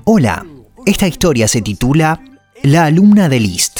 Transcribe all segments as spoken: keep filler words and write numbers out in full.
Hola, esta historia se titula La alumna de Liszt.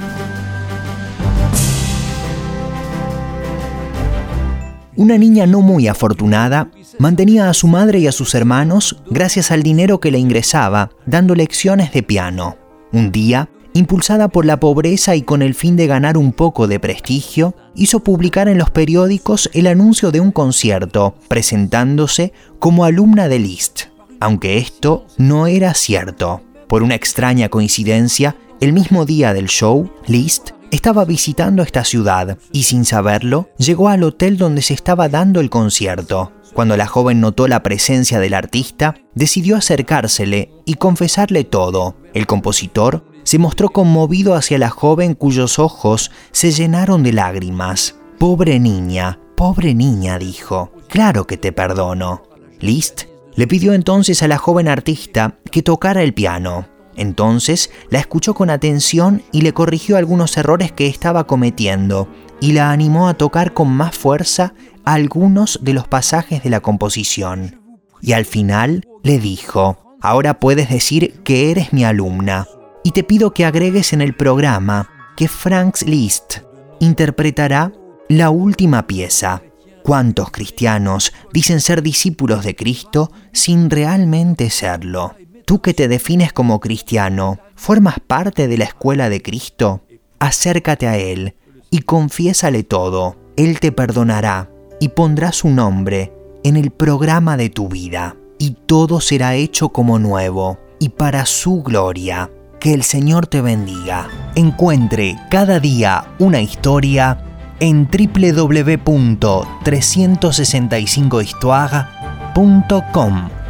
Una niña no muy afortunada mantenía a su madre y a sus hermanos gracias al dinero que le ingresaba dando lecciones de piano. Un día, impulsada por la pobreza y con el fin de ganar un poco de prestigio, hizo publicar en los periódicos el anuncio de un concierto, presentándose como alumna de Liszt. Aunque esto no era cierto. Por una extraña coincidencia, el mismo día del show, Liszt estaba visitando esta ciudad y, sin saberlo, llegó al hotel donde se estaba dando el concierto. Cuando la joven notó la presencia del artista, decidió acercársele y confesarle todo. El compositor se mostró conmovido hacia la joven, cuyos ojos se llenaron de lágrimas. «Pobre niña, pobre niña», dijo. «Claro que te perdono». Liszt le pidió entonces a la joven artista que tocara el piano. Entonces la escuchó con atención y le corrigió algunos errores que estaba cometiendo y la animó a tocar con más fuerza algunos de los pasajes de la composición. Y al final le dijo: «Ahora puedes decir que eres mi alumna y te pido que agregues en el programa que Franz Liszt interpretará la última pieza». ¿Cuántos cristianos dicen ser discípulos de Cristo sin realmente serlo? Tú que te defines como cristiano, ¿formas parte de la escuela de Cristo? Acércate a Él y confiésale todo. Él te perdonará y pondrá su nombre en el programa de tu vida. Y todo será hecho como nuevo y para su gloria. Que el Señor te bendiga. Encuentre cada día una historia en doble u doble u doble u punto trescientos sesenta y cinco histoire punto com.